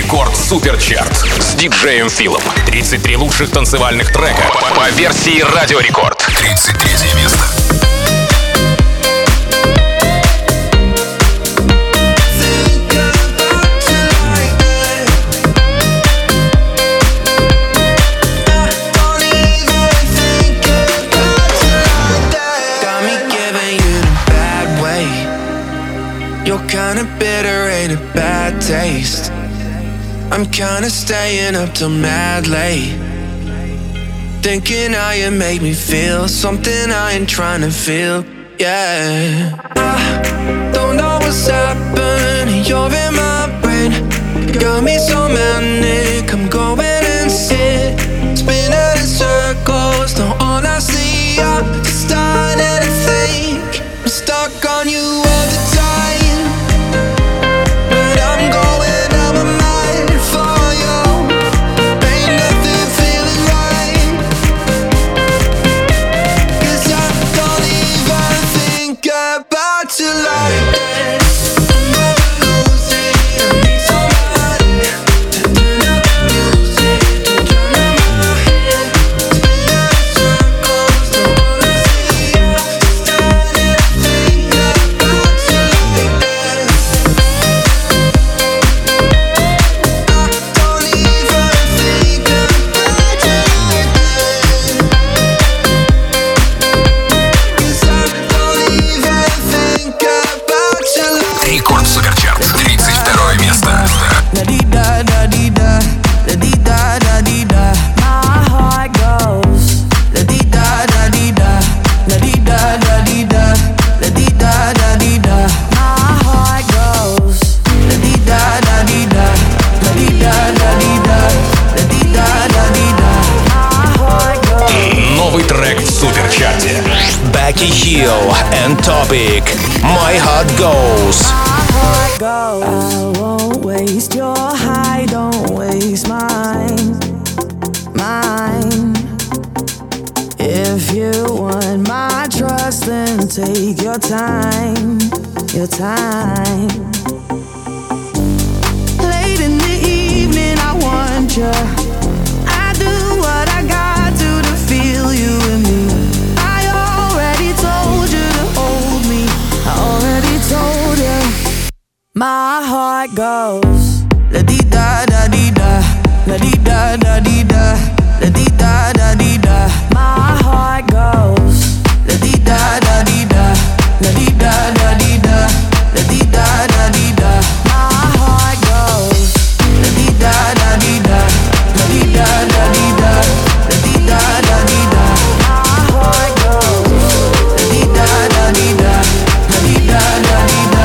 Рекорд Суперчарт с диджеем Филом. 33 лучших танцевальных трека по версии Радио Рекорд. 33 место. Kinda bitter, ain't a bad taste. I'm kinda staying up till mad late, thinking how you make me feel something I ain't trying to feel. Yeah, I don't know what's happening. You're in my brain, got me so manic. I'm going insane, spinning in circles. Now all I see are just starting to think I'm stuck on you all the time. And Topic, My Heart Goes. I won't waste your high, don't waste mine. If you want my trust, then take your time. Late in the evening, I want you. I do what I got to feel you and me. Told you, my heart goes la di da da di da, la di da da di da, la di da da di da. My heart goes la di da da di da, la di da da di da, la di da da di da. My heart goes la di da da di da, la di da da di da, la di da da di da. My heart goes la di da da di da, la di da da di da.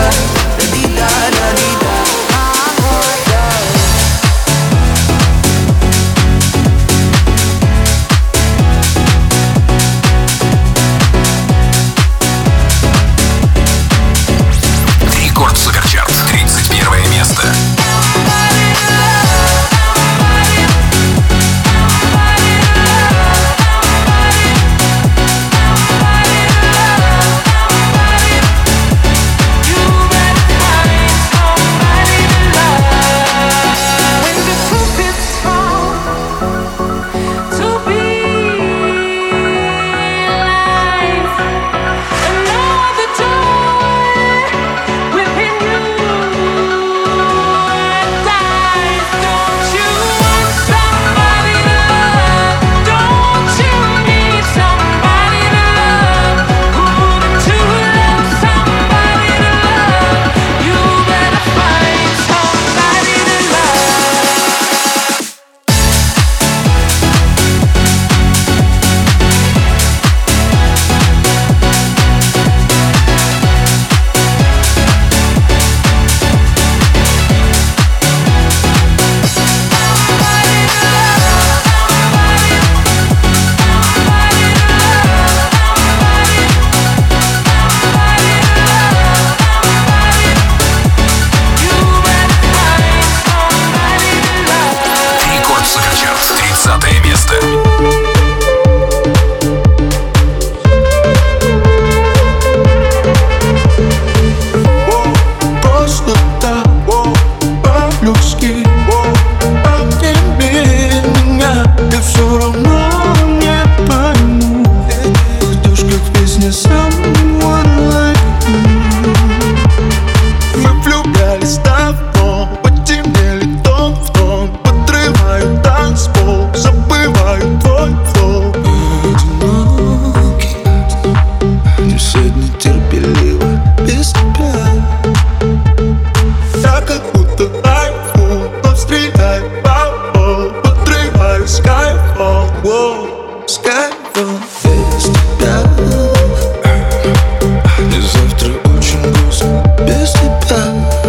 Skyfall, подрываю Skyfall, воу, Skyfall. Без тебя и завтра очень грустно без тебя.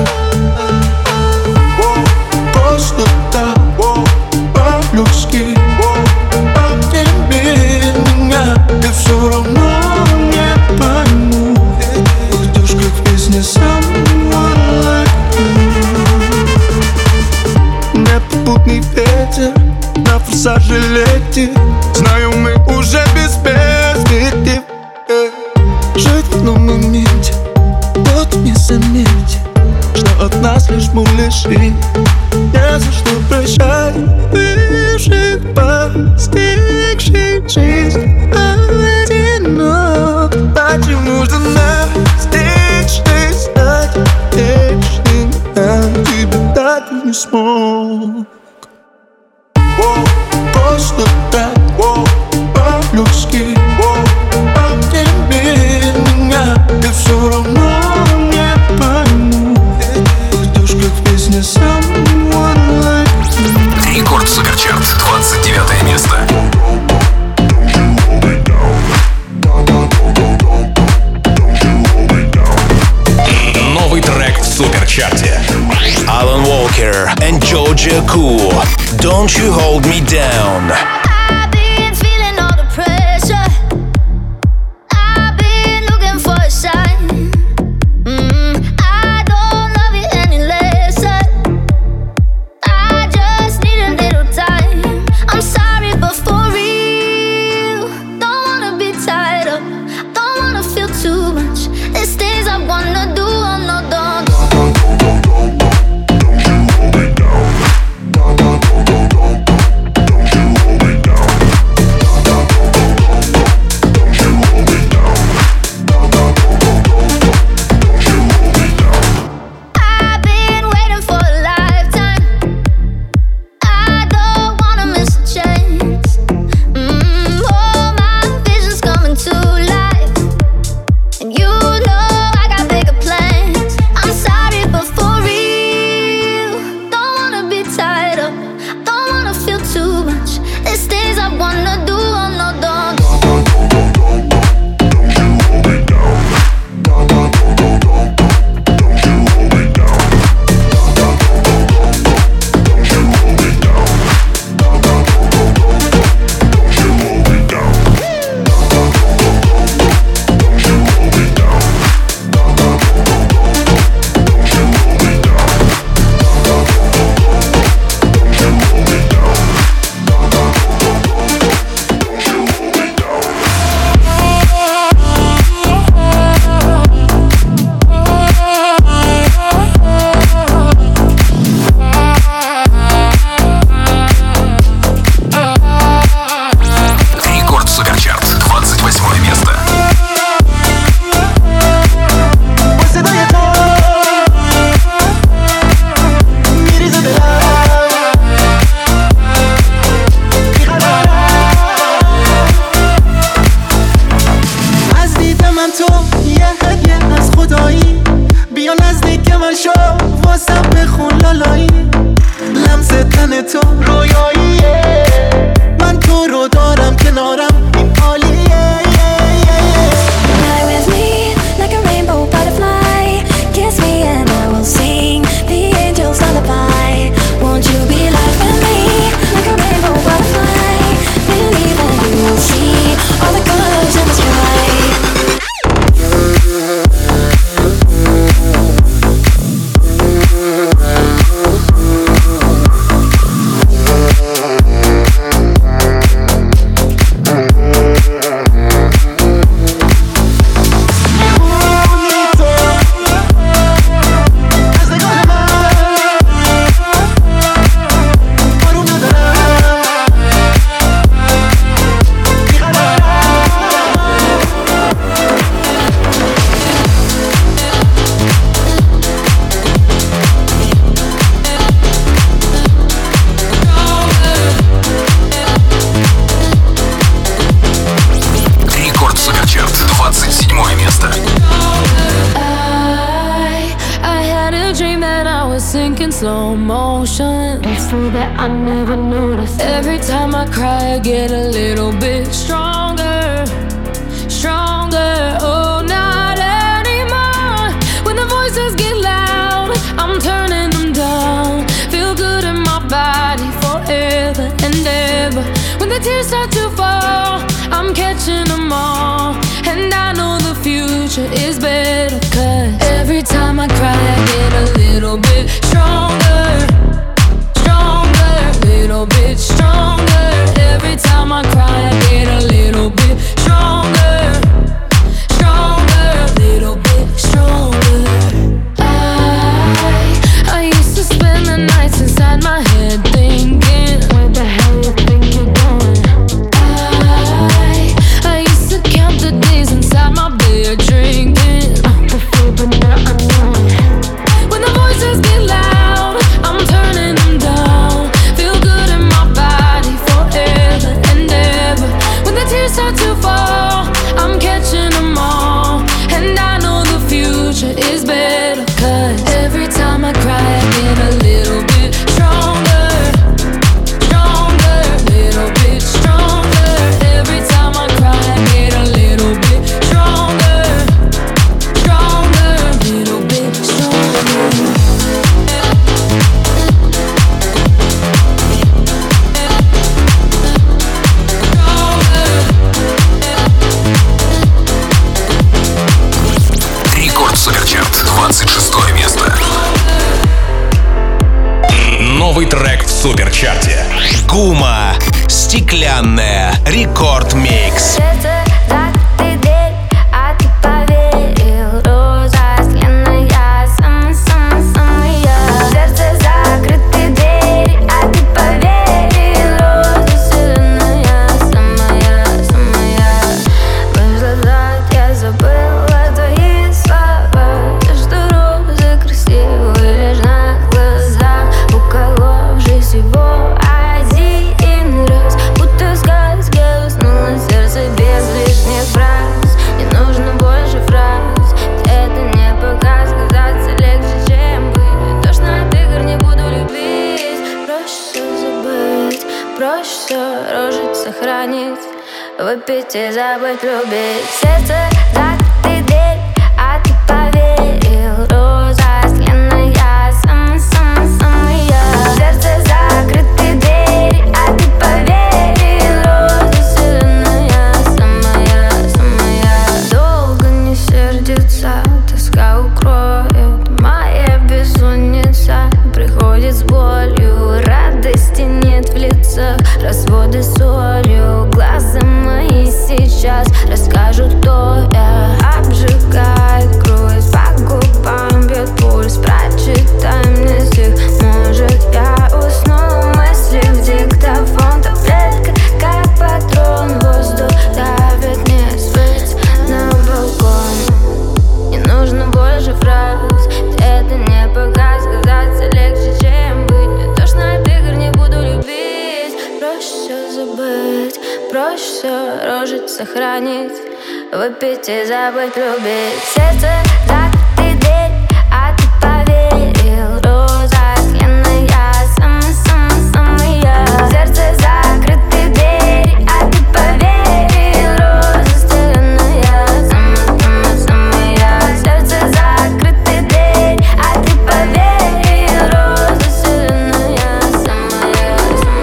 Воу, просто так, воу, по-людски, воу, обними меня, ты все равно не пойму. Уйдешь как в песне Someone Like You. Непопутный ветер на форсаже летит. Знаю, мы уже без перспектив. Жить в одном моменте, вот не заметь, что от нас лишь муляжи. Не за что прощать бывших, постигших жизнь одинок. Зачем нужно настичь, ты стать вечным? Я тебя так и не смог. Воу, просто так, воу, по-людски, воу, обними меня, ты все равно не пойму. Уйдешь как в песне Someone Like You. Рекорд Суперчарт, 29 место. Новый трек в Суперчарте. Alan Walker and Georgia Cool. Don't you hold me down. I've been feeling all the pressure. I've been looking for a sign. I don't love you any less. I just need a little time. I'm sorry, but for real, don't wanna be tied up. Don't wanna feel too much. There's things I wanna do. I'm not done. I've been waiting for a lifetime. I don't wanna miss a chance. Oh, my vision's coming to life, and you know I got bigger plans. I'm sorry, but for real, don't wanna be tied up. Don't wanna feel too much. There's things I wanna do. I'm not done. Рекорд Суперчарт, 28 место. از دید من تو یه هدیه از خدایی. بیا نزدیک من شو واسم بخون لالایی. لمس تن تو رویاییه. من تو رو دارم کنارم این عالیه. Fly with me like a rainbow butterfly. Kiss me and I will sing the angel's lullaby. Won't you be like with me like a rainbow butterfly? Believe and you will see all the colors in the sky. slow mo. emotions that I never noticed. Every time I cry, I get a little bit stronger, stronger. Oh, not anymore. When the voices get loud, I'm turning them down. Feel good in my body forever and ever. When the tears start to fall, I'm catching them all. And I know the future is better, 'cause every time I cry, I get a little bit stronger, stronger, little bit stronger. Every time I cry, I get a little bit stronger, stronger, little bit stronger. I used to spend the nights inside my head thinking, where the hell you think you're going? I used to count the days inside my bed drinking the food, but now I know it. When the voices get loud, I'm turning them down. Feel good in my body forever and ever. When the tears start to fall, I'm catching them all. And I know the future is better, 'cause every time I cry, I get a little bit stronger, stronger, little bit stronger. Every time I cry, I get a little bit stronger, stronger, little bit stronger. Рекорд Суперчарт, 26 место. Новый трек в Суперчарте. Гума. Стеклянная. Рекорд Микс. Выпить и забыть, любить. Сердце закрытый дверь, а ты поверил. Роза стеклянная, самая-самая. Сердце закрытый дверь, а ты поверил. Роза стеклянная, самая-самая. Долго не сердится, тоска укроет. Моя бессонница приходит с болью. Радости нет в лицах, разводы солью. Глаза мои сейчас расскажут, кто я. Обжигает грудь, по губам бьет пульс. Прочитай мне стих, может я усну. Мысли в диктофон, таблетка как патрон. Воздух давит, не спать на балкон. Не нужно больше фраз, это не показ. Казаться легче, чем быть. Мне тошно от игр, не буду любить. Проще все забыть, проще все рожить, сохранить. Выпить и забыть, любить. Сердце закрытый дверь, а ты поверил. Роза стеклянная, самая-самая. Сердце закрытый дверь, а ты поверил. Роза стеклянная, самая-самая. Сердце закрытый дверь, а ты поверил. Роза стеклянная, самая-самая.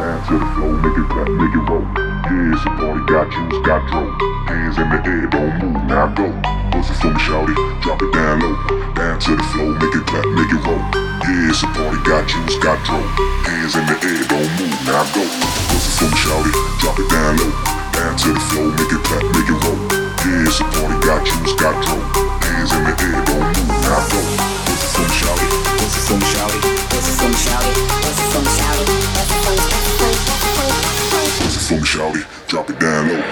Dance to the flow, make it clap, make it roll. Yeah, it's a party, got juice, got dro. Hands in the air, don't move, now go. Bust it for me, shawty, drop it down low. Dance to the flow, make it clap, make it roll. Yeah, it's a party, got juice, got dro. Hands in the air, don't move, now go. Bust it for me, shawty, drop it down low. Dance to the flow, make it clap, make it roll. Yeah, it's a party, got juice, got dro. Hands in the air, don't move, now go. Bust it for me, shawty, bust it for me, shawty, bust it for me, shawty, bust it for me, shawty, bust it for me, bust it for me, shawty, drop it down low.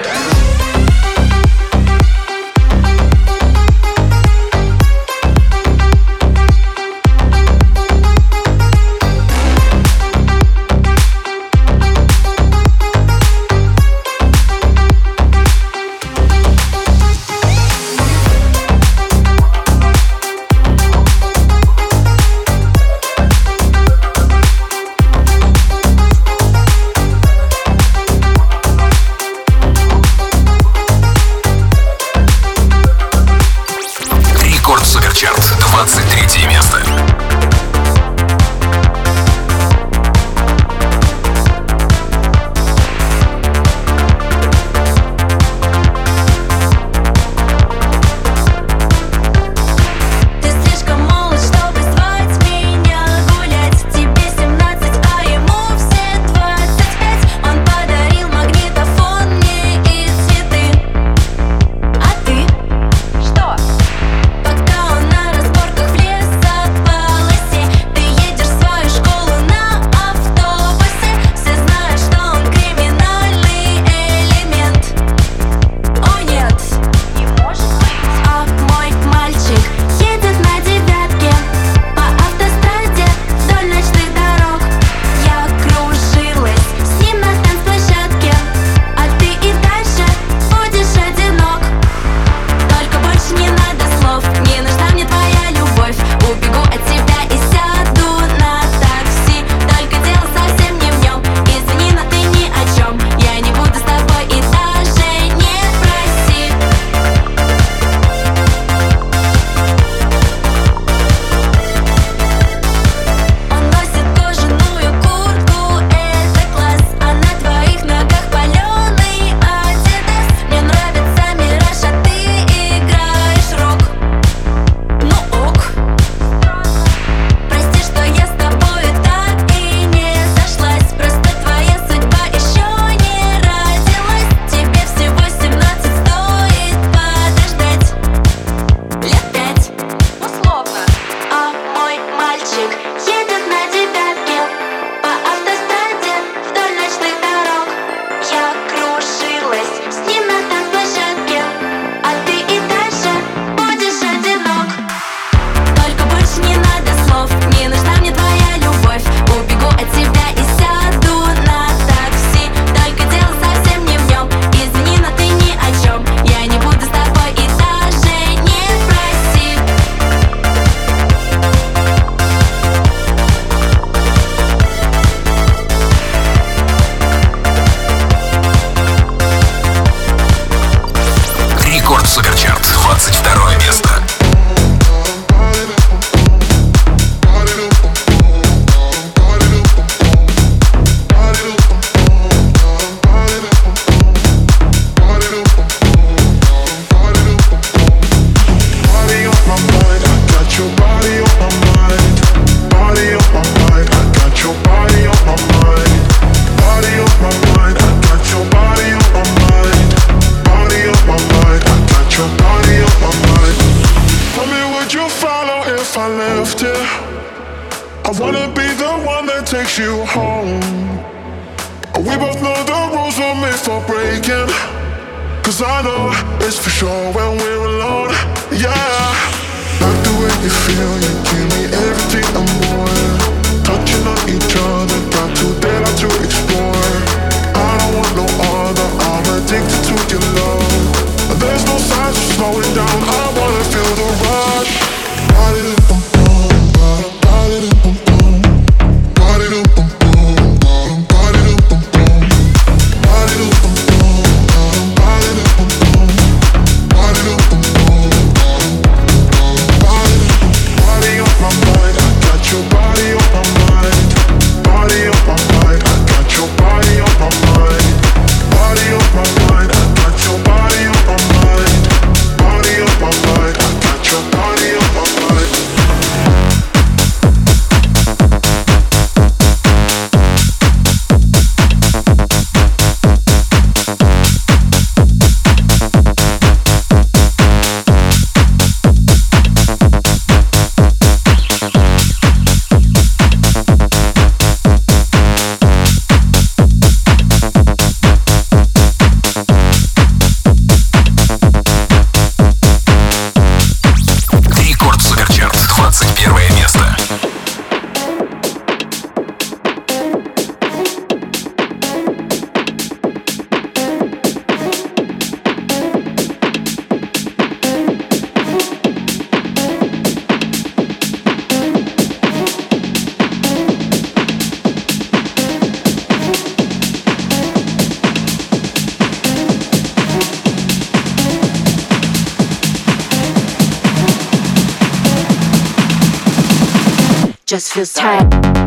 just feels tight.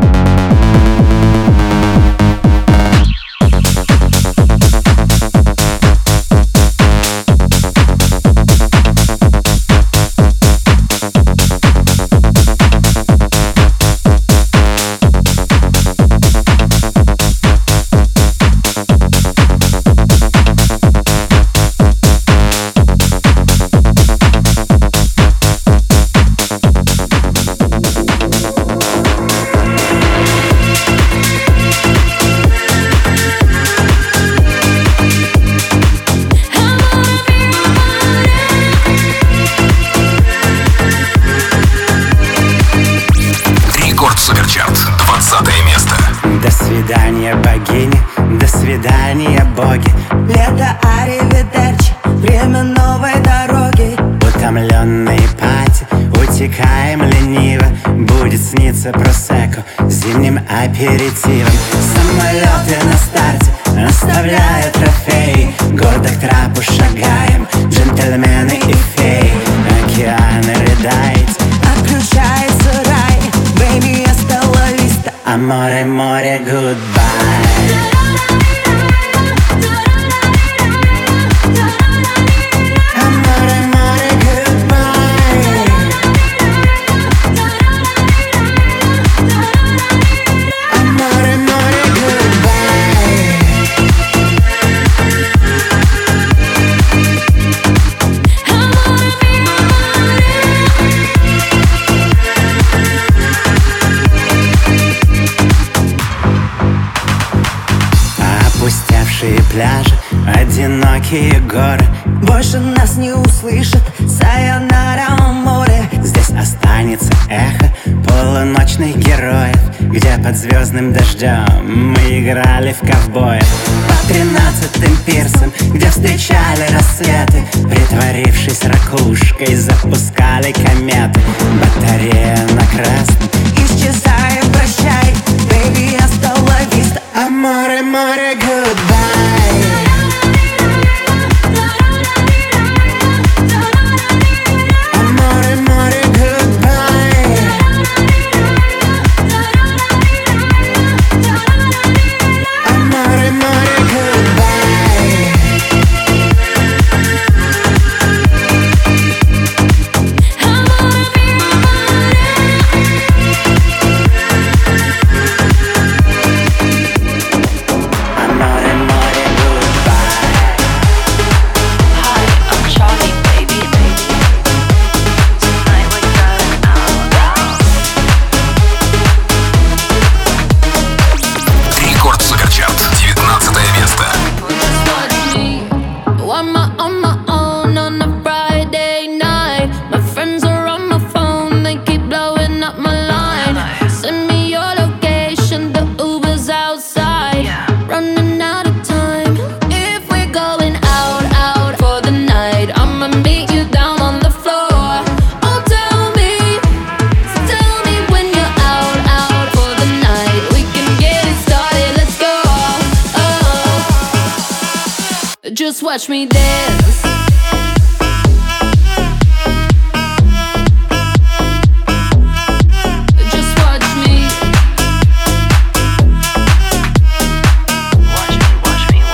До свидания, богини, до свидания, боги. Лето, аривидерчи, время новой дороги. Утомленные пати, утекаем лениво. Будет сниться просекко зимним аперитивом. Самолеты на старте оставляют трофеи. Гордо к трапу шагаем, джентльмены и феи. Океаны рыдает, отключается рай. Baby, hasta la vista. Аморе, море, goodbye. Опустевшие пляжи, одинокие горы. Больше нас не услышат, сайонара море. Здесь останется эхо полуночных героев, где под звездным дождем мы играли в ковбоев. По 13-м пирсам, где встречали рассветы, притворившись ракушкой, запускали кометы. Батарея на красном, исчезая, прощай. Baby, hasta la vista. Аморе, море, goodbye. Just watch me dance. Just watch me. Watch me.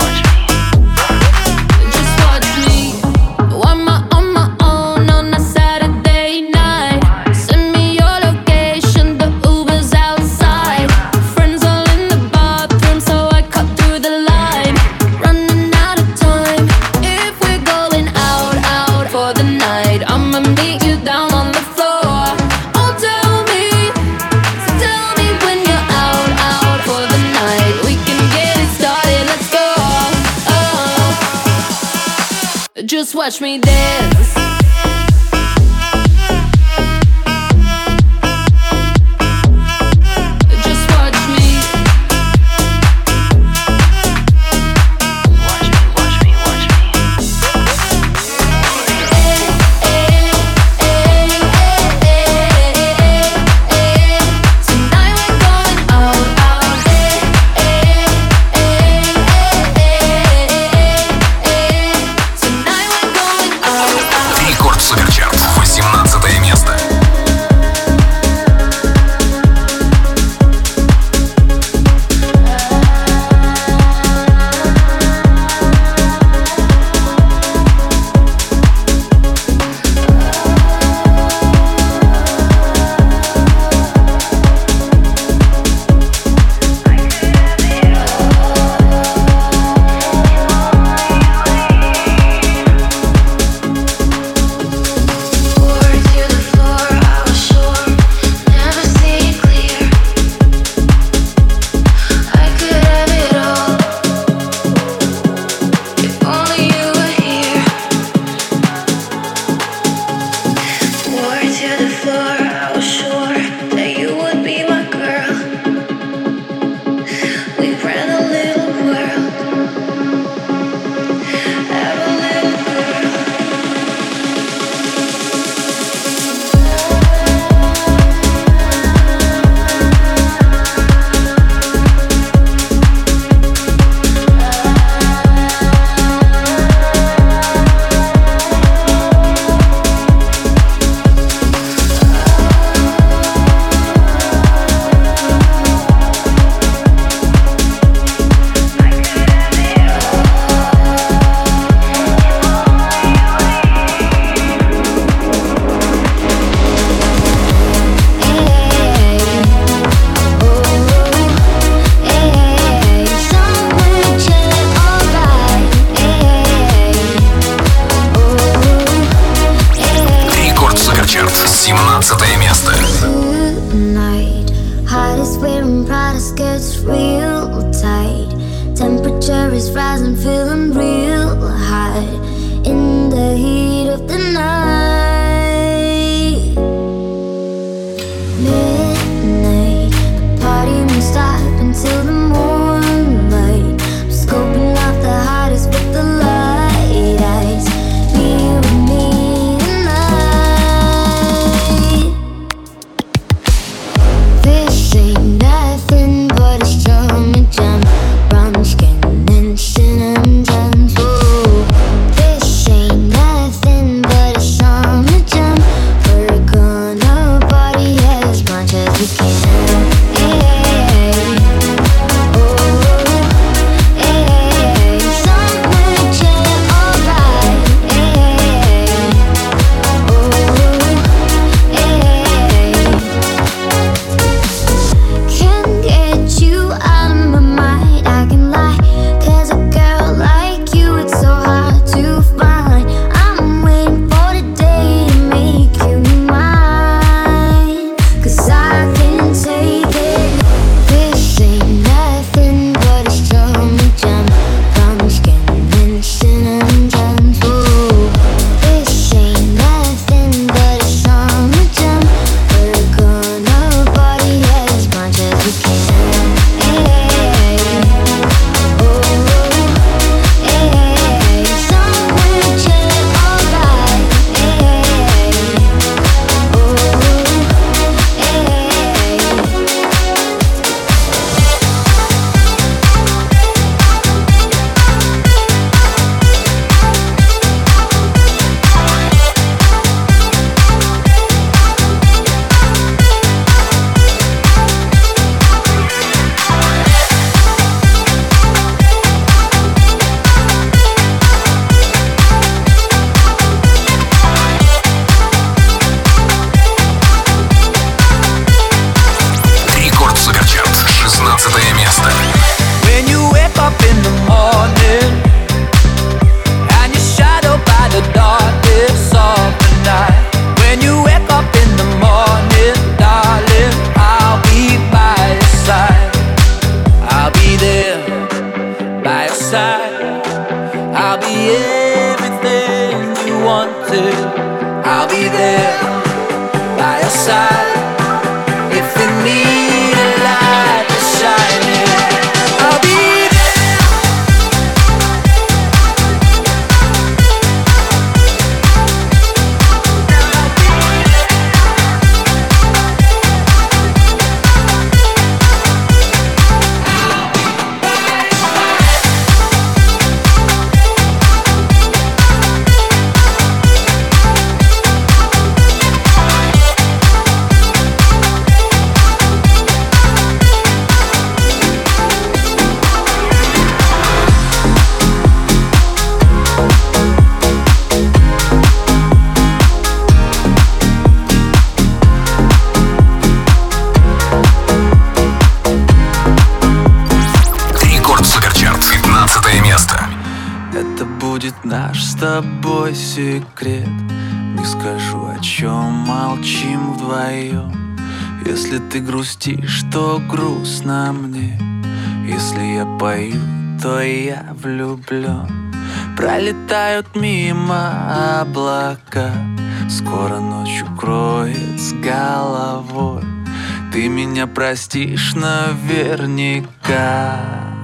Just watch me. On my own on a Saturday night. Send me your location, the Uber's outside. Friends all in the bathroom, so I cut through the line. Running out of time. If we're going out for the night, I'ma meet you down on the floor. Oh, tell me when you're out for the night. We can get it started, let's go. Just watch me dance. Just watch me. Watch me. Tonight we're going out. Tonight we're going out. 17 место. Tonight, heart is wearing Prada, gets real tight. Temperature is rising, feeling real high in the heat of the night. Midnight, the party won't stop until the moonlight. I'm scoping out the hottest with the light eyes. You and me tonight. This ain't nothing but a strawman jam. Brown skin and cinnamon gems. Ooh, this ain't nothing but a strawman jam. We're gonna party as much as we can. Секрет, не скажу, о чем молчим вдвоем. Если ты грустишь, то грустно мне. Если я пою, то я влюблен. Пролетают мимо облака, скоро ночь укроет с головой. Ты меня простишь наверняка.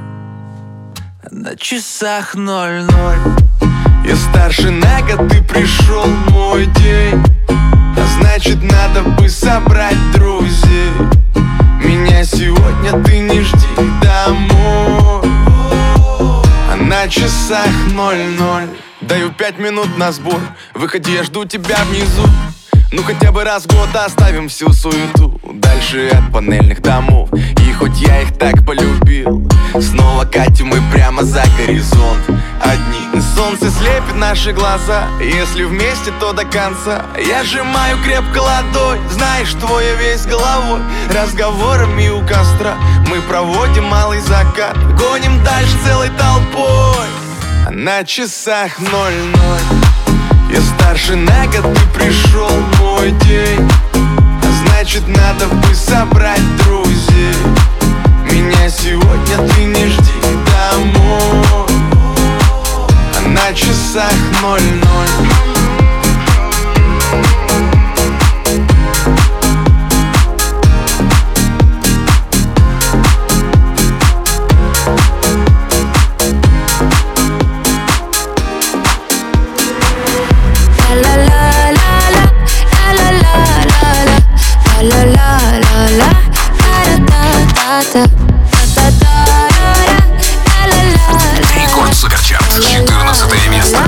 На часах 00. Я старше на год, ты пришел мой день. А значит, надо бы собрать друзей. Меня сегодня ты не жди домой. А на часах 00. Даю 5 минут на сбор. Выходи, я жду тебя внизу. Ну хотя бы раз в год оставим всю суету дальше от панельных домов. И хоть я их так полюбил, снова катим мы прямо за горизонт. Одни солнце слепит наши глаза, если вместе, то до конца. Я сжимаю крепко ладонь, знаешь, что я весь головой. Разговорами у костра мы проводим малый закат, гоним дальше целой толпой. А на часах 00. Я старше на год, ты пришел мой день. А значит, надо бы собрать друзей. Меня сегодня ты не жди домой. А на часах 00. Рекорд Суперчарт, 14 место.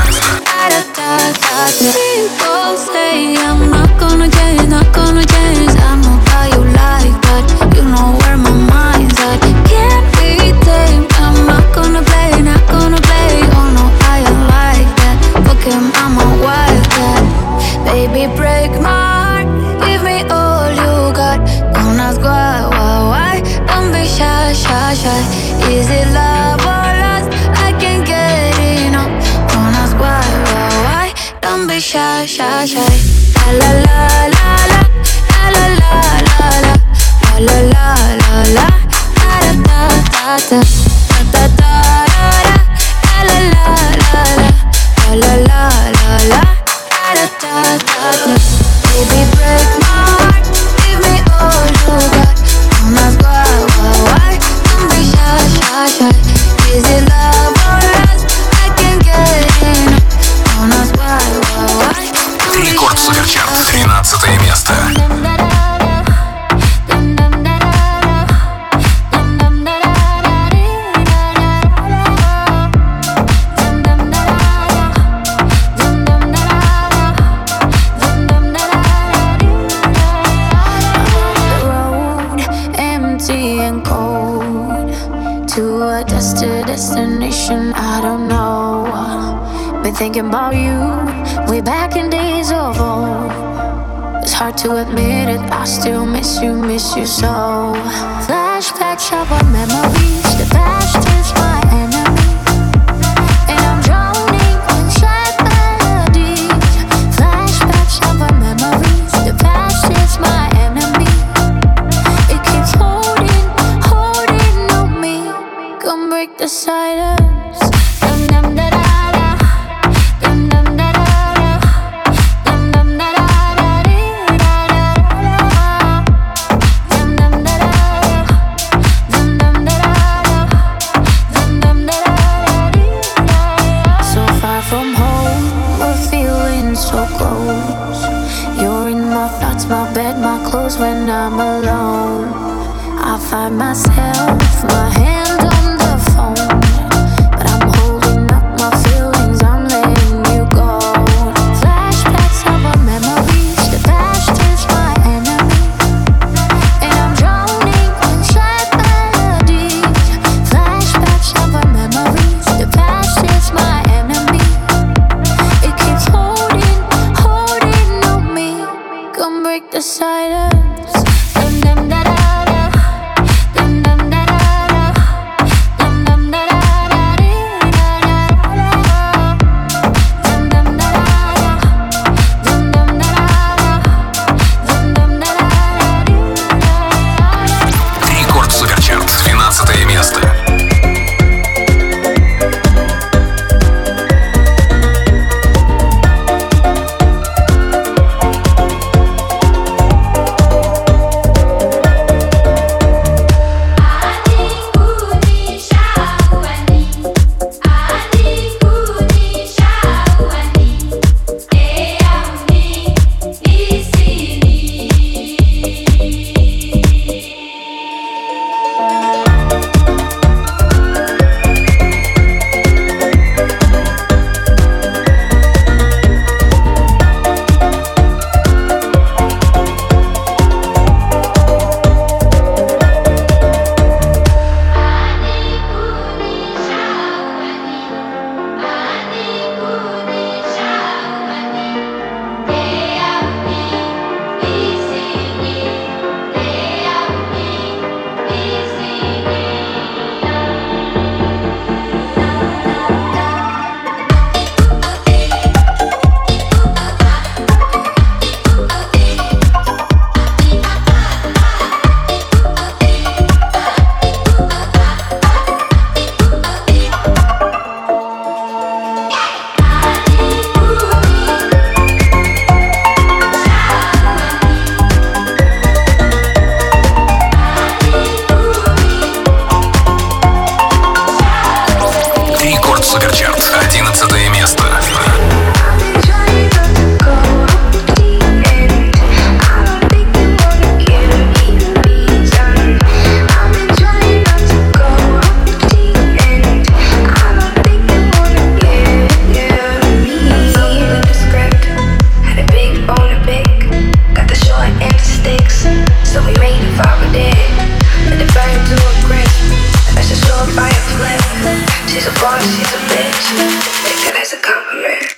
People say I'm not gonna change, not gonna change. I know how you like that, you know where my mind's at. Can't be tamed, I'm not gonna play, not gonna play. Oh no, I am like that, fuck him, I'm a wildcat. Baby, break my heart, give me all you got. Don't ask why, don't be shy, shy, shy. Is it love or lust? I can't get enough. Don't ask why, don't be shy, shy, shy. La la la la la, la la la la, la la la la, da da da da da, da da da, la la la la, la la la la, da da da da. Baby, break my heart, give me all you got. Don't ask why, don't be shy, shy, shy. Is it love or lust? I can't get enough. Don't ask why. Рекорд Суперчарт, 13 место. Destination, I don't know. Been thinking about you way back in days of old. It's hard to admit it, I still miss you so. Flashbacks of our memories, the past is my enemy, and I'm drowning in sad melodies. Flashbacks of our memories, the past is my enemy. It keeps holding on me. Come break the silence. When I'm alone, I find myself, my hand on the phone, but I'm holding up my feelings, I'm letting you go. Flashbacks of our memories, the past is my enemy, and I'm drowning in sad melodies. Flashbacks of our memories, the past is my enemy. It keeps holding on me. Come break the silence. Суперчарт, 11 место. She's a boss, she's a bitch. Take it as a compliment.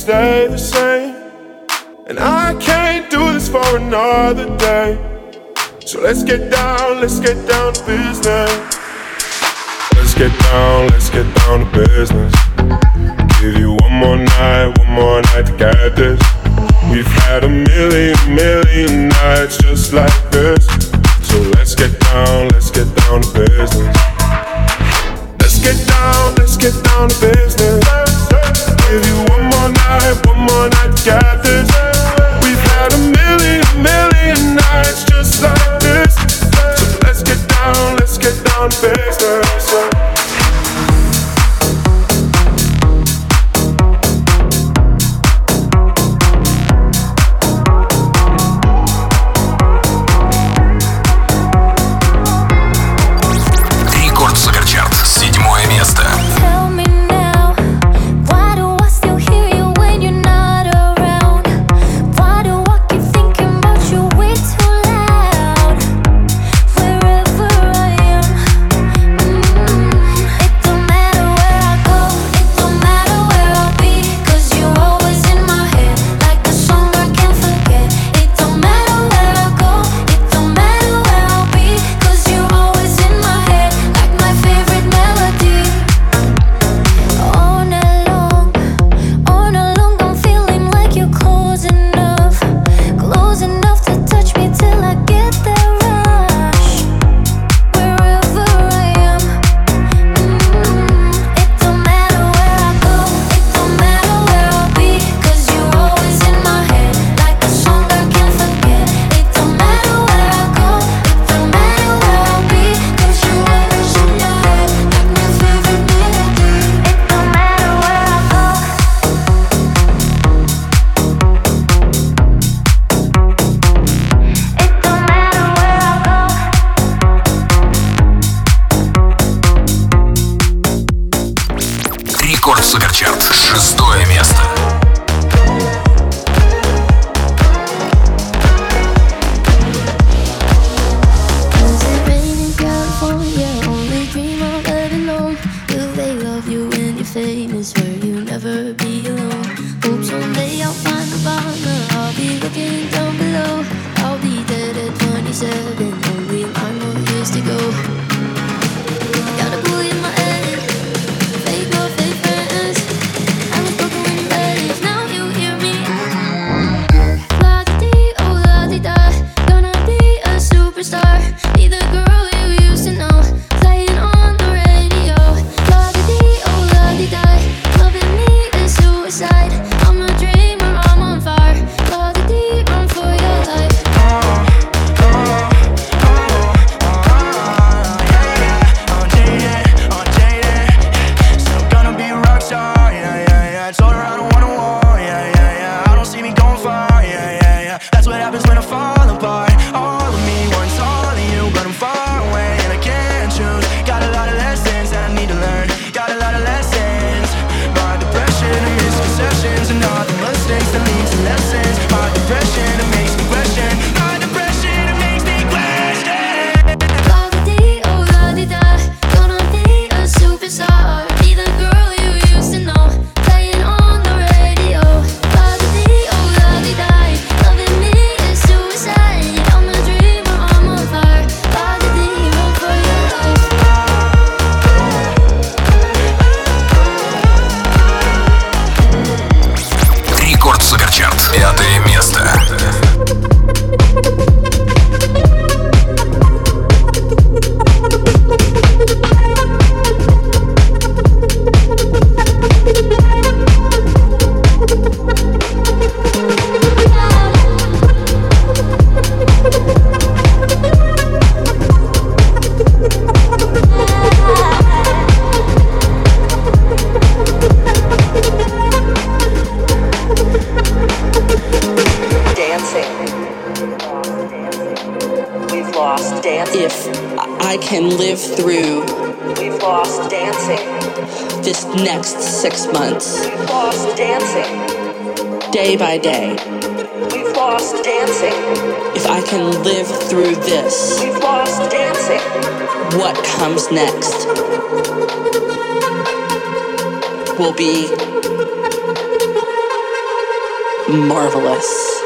stay the same. And I can't do this for another day. So let's get down to business. Let's get down to business. Give you one more night to get this. We've had a million nights just like this. So let's get down to business. Let's get down to business. Give you one more night to get this. We've had a million nights just like this. So let's get down to business. can live through We've lost dancing. this next 6 months, We've lost dancing. day by day. We've lost dancing. If I can live through this, We've lost dancing. what comes next will be marvelous.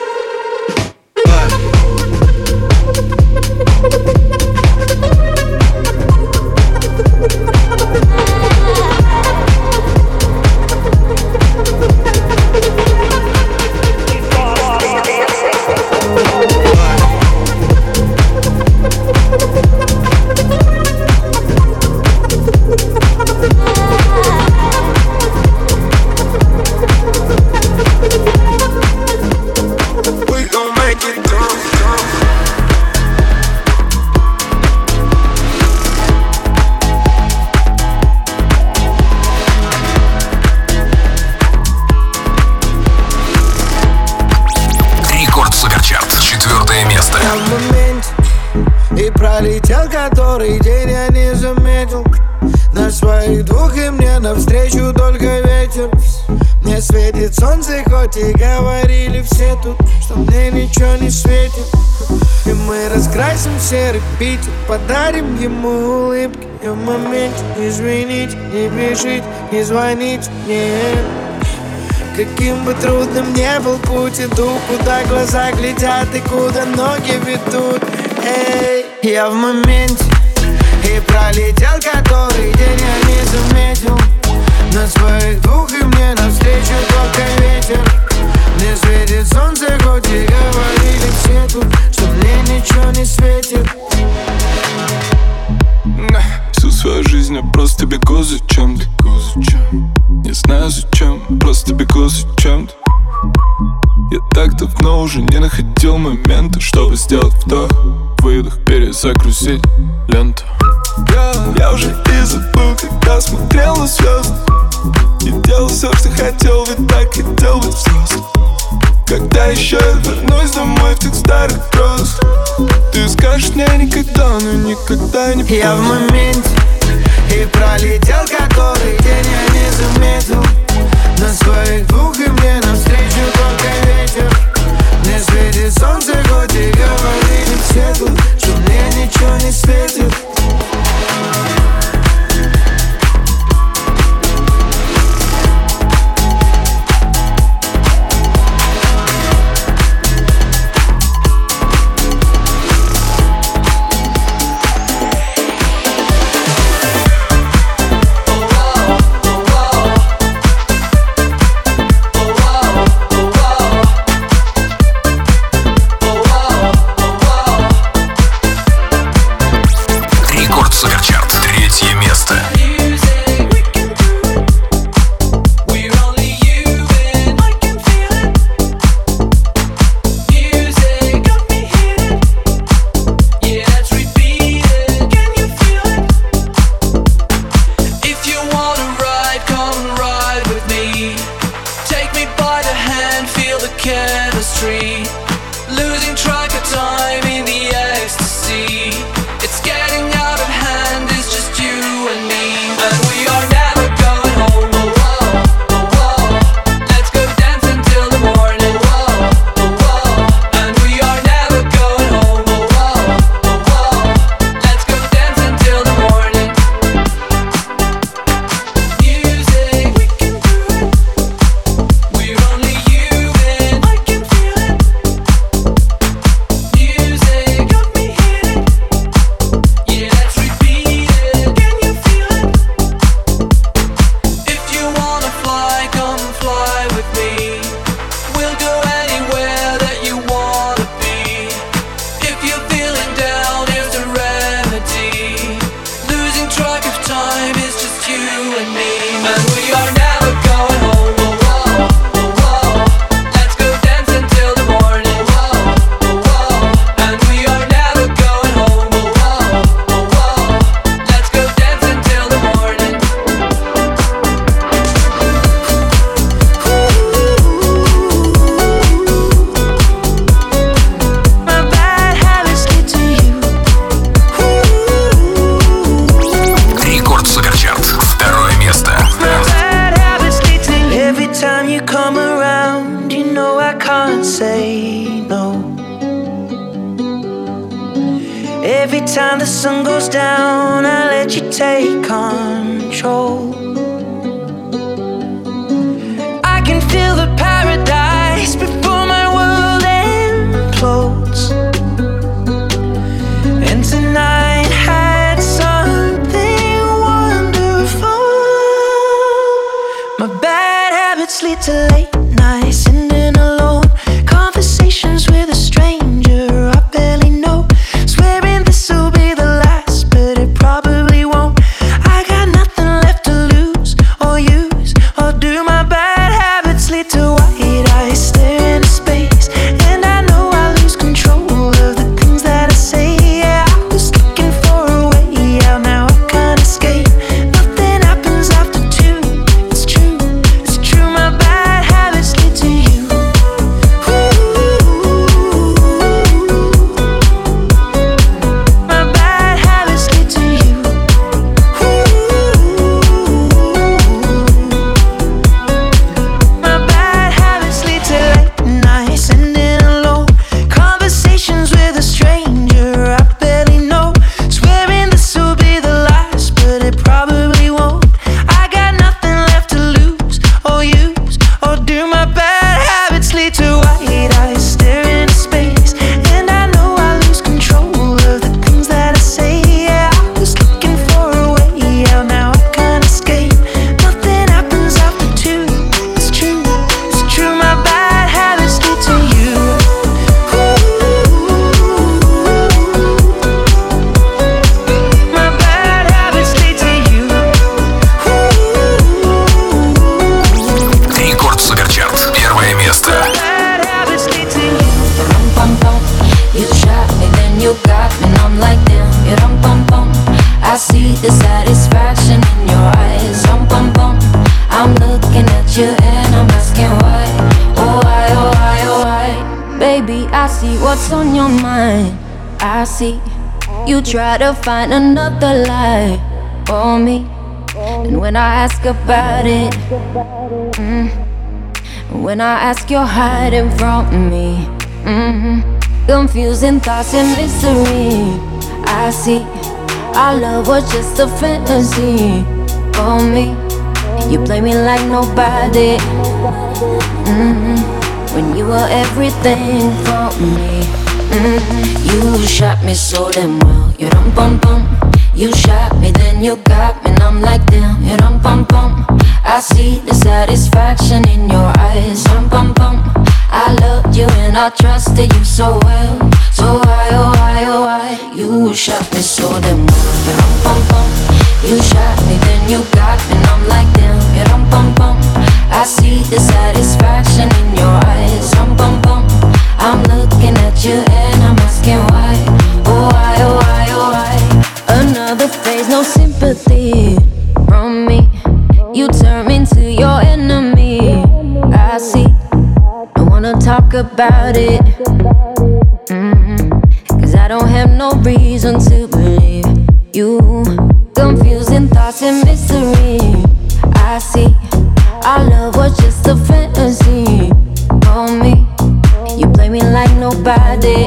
Пролетел который день, я не заметил. На своих двух и мне навстречу только ветер. Мне светит солнце, хоть и говорили все тут, что мне ничего не светит. И мы раскрасим серый Питер, подарим ему улыбки. И в моменте извините, не бежите, не звоните мне. Каким бы трудным ни был путь, иду, куда глаза глядят и куда ноги ведут. Эй, я в моменте, и пролетел который день, я не заметил. На своих двух и мне навстречу только ветер. Мне светит солнце, хоть и говорили все тут, что мне ничего не светит. Всю свою жизнь я просто бегу за чем-то. Не знаю зачем, просто бегу за чем-то. Я так давно уже не находил момента, чтобы сделать вдох, выдох, перезагрузить ленту. Я уже и забыл, когда смотрел на звезды, и делал все, что хотел, ведь так хотел быть взрослым. Когда еще я вернусь домой в тех старых грозах, ты скажешь мне никогда, но никогда не помню. Я в моменте, и пролетел который день, я не заметил. На своих двух и мне навстречу только ветер. Мне светит солнце, хоть и говорили все тут, что мне ничего не светит. Every time the sun goes down, I let you take control. I can feel the paradise before My bad habits lead to late nights, sitting alone, conversations with a stranger I barely know, swearing this will be the last, but it probably won't. I got nothing left to lose or use or do. My bad habits lead to white eyes staring into space, and I know I lose control of the things that I say. Yeah, I was looking for a way out, now I can't escape. Nothing happens after two. It's true, it's true. My bad habits lead to you. My bad habits lead to you. My bad habits lead to late nights, ending alone, conversations with a stranger I barely know, swearing this will be the last, but it probably won't. I got nothing left to lose or use or do. My bad habits lead to white eyes staring into space, and I know I lose control of the things that I say. Yeah, I was looking for a way out, now I can't escape. Nothing happens after two. It's true, it's true. My bad habits lead to you. My bad habits lead to you. Рекорд Суперчарт. Первое место. Bad habits lead to you. Bum bum, you shot me, then you got me, and I'm like damn. You rum bum bum, I see the satisfaction in your eyes. Bum bum, I'm looking at you and I'm asking why. Oh why, oh why, oh why? Baby, I see what's on your mind. I see you try to find another lie for me, and when I ask about it, when I ask, you're hiding from me. Confusing thoughts and mystery. I see our love was just a fantasy for me. You play me like nobody. When you were everything for me. You shot me so damn well. You dum bum bum. You shot me, then you got me, and I'm like damn. You dum bum bum. I see the satisfaction in your eyes. Bum bum. I loved you and I trusted you so well. So why, oh why, oh why? You shot me so damn well. You dum bum bum. You shot me, then you got me, and I'm like damn. You dum bum bum. I see the satisfaction in your eyes. Bum bum. I'm looking at you and I'm asking why. Oh why, oh why, oh why? Another phase, no sympathy from me. You turn me into your enemy. I see. Don't wanna talk about it. Cause I don't have no reason to believe you. Confusing thoughts and mystery. I see. Our love was just a fantasy for me. You play me like nobody.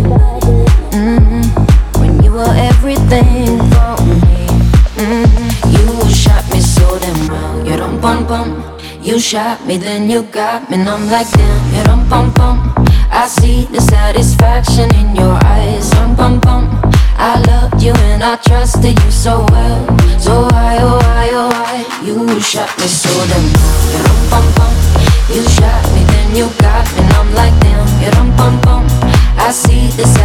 When you were everything for me. You shot me so damn well. You dum bum bum. You shot me, then you got me, and I'm like damn. You dum bum bum. I see the satisfaction in your eyes. Bum bum. I loved you and I trusted you so well. So why, oh why, oh why? You shot me so damn well. You dum bum bum. You shot me, then you got me, and I'm like damn. You dum bum bum. I see the